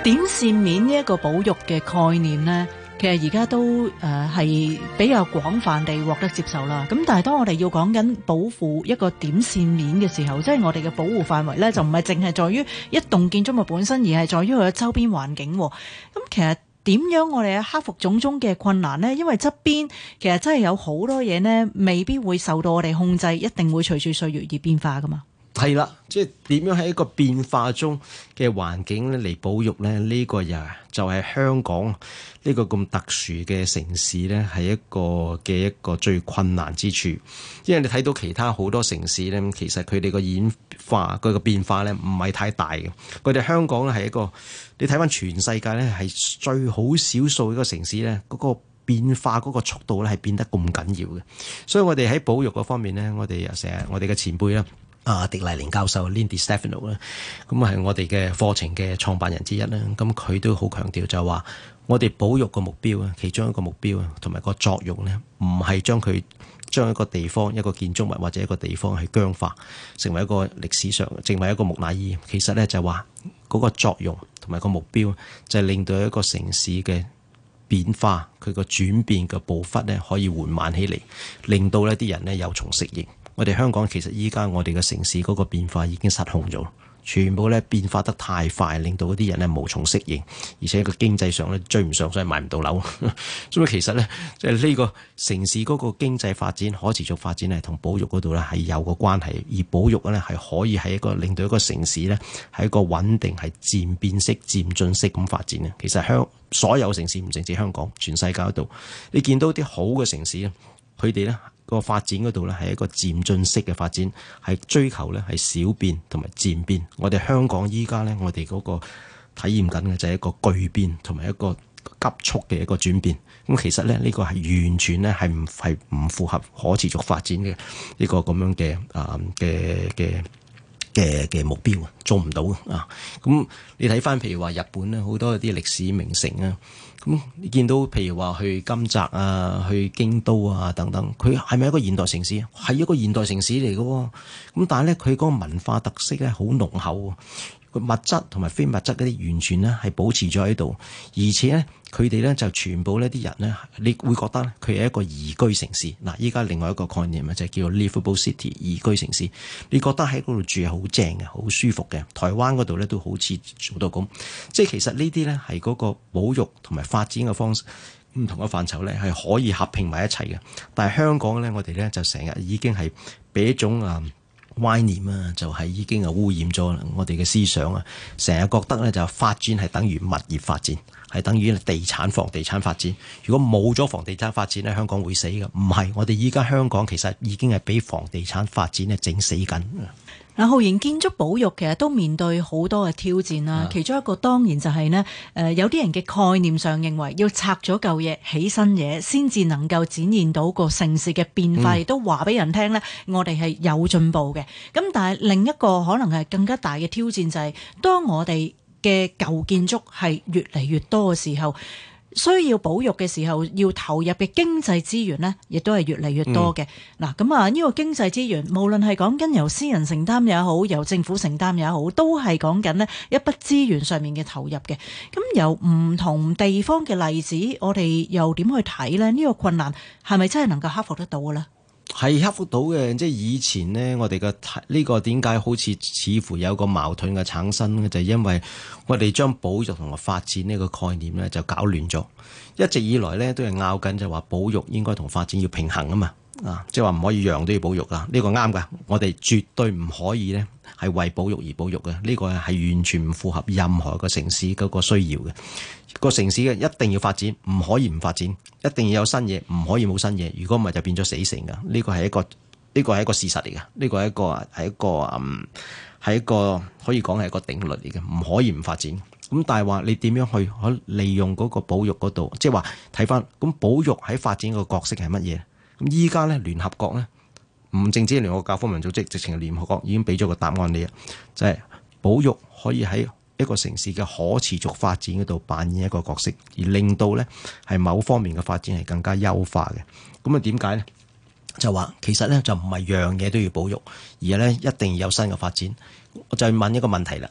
點線面呢一個保育嘅概念呢，其實而家都誒係、呃、比較廣泛地獲得接受啦。咁但係當我哋要講緊保護一個點線面嘅時候，即係我哋嘅保護範圍呢，就唔係淨係在於一棟建築物本身，而係在於佢嘅周邊環境。咁其實點樣我哋克服種種嘅困難呢？因為側邊其實真係有好多嘢呢，未必會受到我哋控制，一定會隨住歲月而變化噶嘛。 係啦，即係點樣喺一個變化中嘅環境咧嚟保育咧？呢、這個又就係香港呢個咁特殊嘅城市咧，係一個嘅一個最困難之處。因為你睇到其他好多城市咧，其實佢哋個演化佢個變化咧唔係太大嘅。佢哋香港咧係一個，你睇翻全世界咧係最好少數一個城市咧，嗰、那個變化嗰個速度咧係變得咁緊要嘅。所以我哋喺保育嗰方面咧，我哋又成日我哋嘅前輩啦。啊，狄麗玲教授 Lindy Stefano 咧，咁係我哋嘅課程嘅創辦人之一啦。咁佢都好強調就係話，我哋保育個目標啊，其中一個目標啊，同埋個作用咧，唔係將佢將一個地方一個建築物或者一個地方係僵化，成為一個歷史上成為一個木乃伊。其實咧就係話嗰個作用同埋個目標就係令到一個城市嘅變化，佢個轉變嘅步伐咧可以緩慢起嚟，令到呢啲人咧有從適應。我哋香港其實依家我哋嘅城市嗰個變化已經失控咗，全部咧變化得太快，令到嗰啲人咧無從適應，而且個經濟上咧追唔上，所以買唔到樓。所以其實咧，即係呢個城市嗰個經濟發展、可持續發展係同保育嗰度咧係有個關係，而保育咧係可以係一個令到一個城市咧係一個穩定係漸變式、漸進式咁發展嘅。其實香所有城市唔淨止香港，全世界嗰度，你見到啲好嘅城市咧，佢哋咧。個發展嗰度咧係一個漸進式嘅發展，係追求咧係小變同埋漸變。我哋香港依家咧，我哋嗰個體驗緊嘅就係一個巨變同埋一個急速嘅一個轉變。咁其實咧呢個係完全咧係唔係唔符合可持續發展嘅呢個咁樣嘅啊嘅嘅嘅嘅目標，做唔到啊！咁你睇翻譬如話日本咧，好多啲歷史名城啊。咁你見到譬如話去金澤啊、去京都啊等等，佢係咪一個現代城市？係一個現代城市嚟嘅喎。咁但係咧，佢嗰個文化特色咧好濃厚，個物質同埋非物質嗰啲完全咧係保持咗喺度，而且咧佢哋咧就全部呢啲人咧，你會覺得佢係一個宜居城市。嗱，依家另外一個概念啊，就係叫做 livable city 宜居城市。你覺得喺嗰度住係好正嘅，好舒服嘅。台灣嗰度咧都好似做到咁，即係其實呢啲咧係嗰個保育同埋發展嘅方式唔同嘅範疇咧係可以合併埋一齊嘅。但係香港咧，我哋咧就成日已經係俾一種啊歪念啊，就係已經啊污染咗我哋嘅思想啊，成日覺得咧就發展係等於物業發展，係等於地產房地產發展。如果冇咗房地產發展咧，香港會死嘅。唔係，我哋依家香港其實已經係俾房地產發展咧整死緊。 嗱，浩然，建築保育其實都面對好多嘅挑戰啦。其中一個當然就係呢，誒有啲人嘅概念上認為要拆咗舊嘢起新嘢，先至能夠展現到個城市嘅變化，亦、嗯、都話俾人聽呢，我哋係有進步嘅。咁但係另一個可能係更加大嘅挑戰就係、是，當我哋嘅舊建築係越嚟越多嘅時候，需要保育嘅時候，要投入嘅經濟資源呢，亦都係越嚟越多嘅。嗱、嗯，咁啊，呢個經濟資源，無論係講緊由私人承擔也好，由政府承擔也好，都係講緊呢一筆資源上面嘅投入嘅。咁由唔同地方嘅例子，我哋又點去睇呢？呢、呢個困難係咪真係能夠克服得到嘅呢？ 係克服到嘅，即係以前呢，我哋嘅呢個點解好似似乎有個矛盾嘅產生呢？就係、因為我哋將保育同埋發展呢個概念呢就搞亂咗。一直以來呢，都係拗緊，就話保育應該同發展要平衡啊嘛，啊，即係話唔可以樣都要保育啊。呢個啱㗎，我哋絕對唔可以呢係為保育而保育嘅。呢個係完全唔符合任何個城市嗰個需要嘅。個城市嘅一定要發展，唔可以唔發展，一定要有新嘢，唔可以冇新嘢。如果唔係就變咗死城噶。呢個係一個呢個係一個事實嚟嘅。呢個係一個係一個嗯係一個可以講係一個定律嚟嘅，唔可以唔發展。咁但係話你點樣去可利用嗰個保育嗰度，即係話睇翻咁保育喺發展個角色係乜嘢？咁依家咧聯合國咧唔淨止聯合國教科文組織，直情係聯合國已經俾咗個答案你啊，就係、是、保育可以喺一個城市嘅可持續發展嗰度扮演一個角色，而令到咧係某方面嘅發展係更加優化嘅。咁啊點解咧？就話其實咧就唔係樣嘢都要保育，而係咧一定要有新嘅發展。我就問一個問題啦，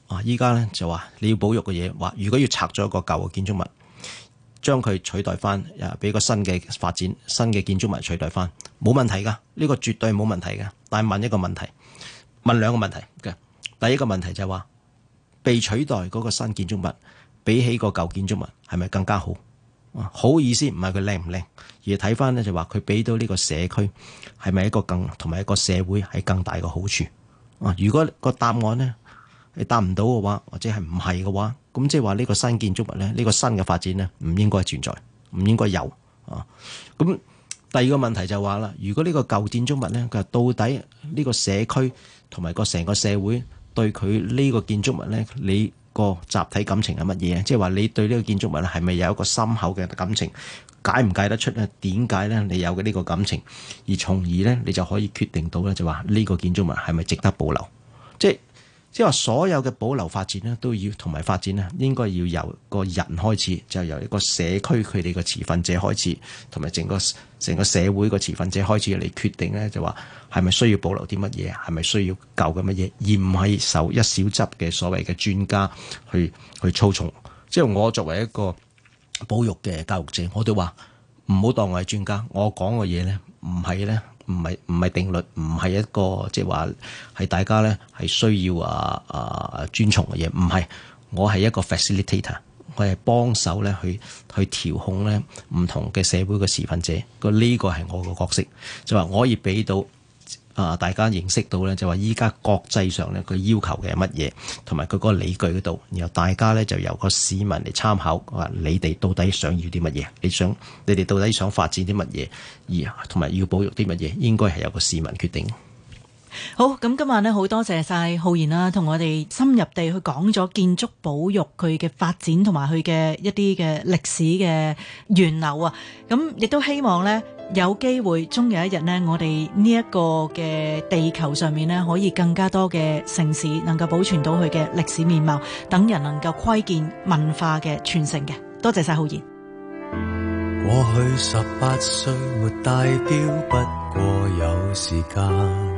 啊，依家咧就話你要保育嘅嘢，話如果要拆咗一個舊嘅建築物，將佢取代翻，誒俾個新嘅發展，新嘅建築物取代翻，冇問題㗎，呢個絕對冇問題㗎。但係問一個問題，問兩個問題嘅。第一個問題就係話，被取代嗰個新建築物，比起個舊建築物係咪更加好？好意思唔係佢靚唔靚，而係睇翻咧就話佢俾到呢個社區係咪一個更同埋一個社會係更大嘅好處？啊，如果個答案咧你答唔到嘅話，或者係唔係嘅話，咁即係話呢個新建築物咧，呢、呢個新嘅發展咧唔應該存在，唔應該有啊。咁第二個問題就話啦，如果呢個舊建築物咧，佢到底呢個社區同埋個成個社會對佢呢個建築物咧，你個集體感情係乜嘢？即係話你對呢個建築物咧係咪有一個深厚嘅感情？解唔解得出咧？點解咧你有嘅呢個感情？而從而咧你就可以決定到咧，就話呢個建築物係咪值得保留？即係即係話所有嘅保留發展咧，都要同埋發展咧，應該要由個人開始，就由一個社區佢哋個持份者開始，同埋整個成個社會個持份者開始嚟決定咧，就話係咪需要保留啲乜嘢，係咪需要舊嘅乜嘢，而唔係受一小執嘅所謂嘅專家去去操縱。即係我作為一個保育嘅教育者，我都話唔好當我係專家，我講嘅嘢咧唔係咧。唔係唔係定律，唔係一個即係話係大家咧係需要啊啊遵從嘅嘢，唔係，我係一個 facilitator， 我係幫手咧去去調控咧唔同嘅社會嘅持份者，個、這、呢個係我個角色，就話我可以俾到啊大家認識到咧，就話依家國際上咧佢要求嘅係乜嘢，同埋佢嗰個理據嗰度，然後大家咧就由個市民嚟參考，話你哋到底想要啲乜嘢，你想你哋到底想發展啲乜嘢，而同埋要保育啲乜嘢，應該係由個市民決定。 好，咁今晚呢，好多謝晒浩然啦，同我哋深入地去講咗建築保育佢嘅發展同埋佢嘅一啲嘅歷史嘅源流啊！咁亦都希望呢，有機會終有一日呢，我哋呢一個嘅地球上面呢，可以更加多嘅城市能夠保存到佢嘅歷史面貌，等人能夠窺見文化嘅傳承嘅。多謝晒浩然。 過去十八歲沒帶錶，不過有時間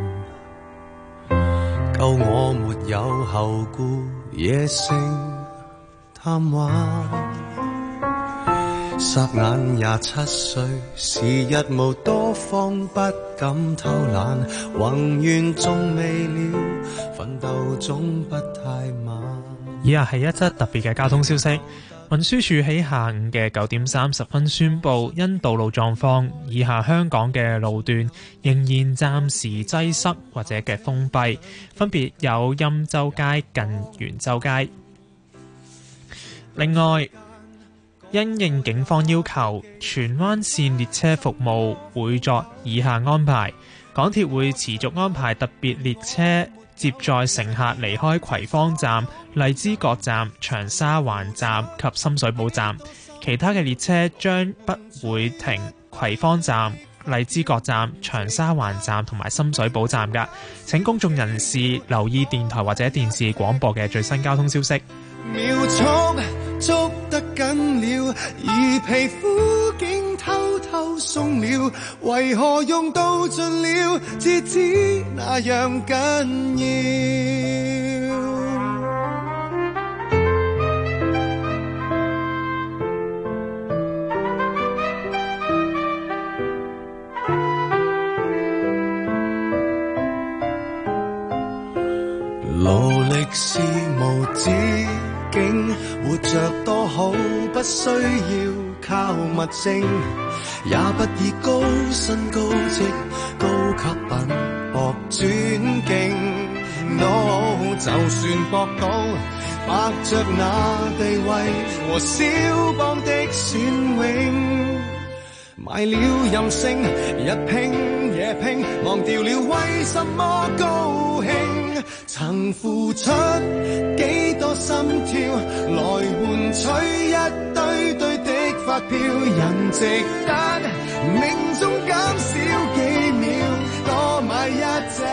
夠我沒有後顧，野性貪玩。霎眼廿七歲，時日無多方，不敢偷懶。宏願縱未了，奮鬥總不太晚。 以下係一則特別嘅交通消息。運輸署喺下午嘅九點三十分宣布，因道路狀況，以下香港嘅路段仍然暫時擠塞或者嘅封閉，分別有欽州街近元州街。另外，因應警方要求，荃灣線列車服務會作以下安排：港鐵會持續安排特別列車接載乘客離開葵芳站、荔枝角站、長沙灣站及深水埗站，其他嘅列車將不會停葵芳站、荔枝角站、長沙灣站同埋深水埗站㗎。請公眾人士留意電台或者電視廣播嘅最新交通消息。 秒速捉得緊了，而皮膚竟偷偷鬆了，為何用到盡了，至知那樣緊要。勞力是無止境，活着多好，不需要靠物證，也不以高薪高職高級品博尊敬。No， 就算博到白着那地位和蕭邦的雋永，賣了任性，日拼夜拼，忘掉了為什麼高興。曾付出幾多心跳，來換取一堆堆的發票，人值得命中減少幾秒，多買一隻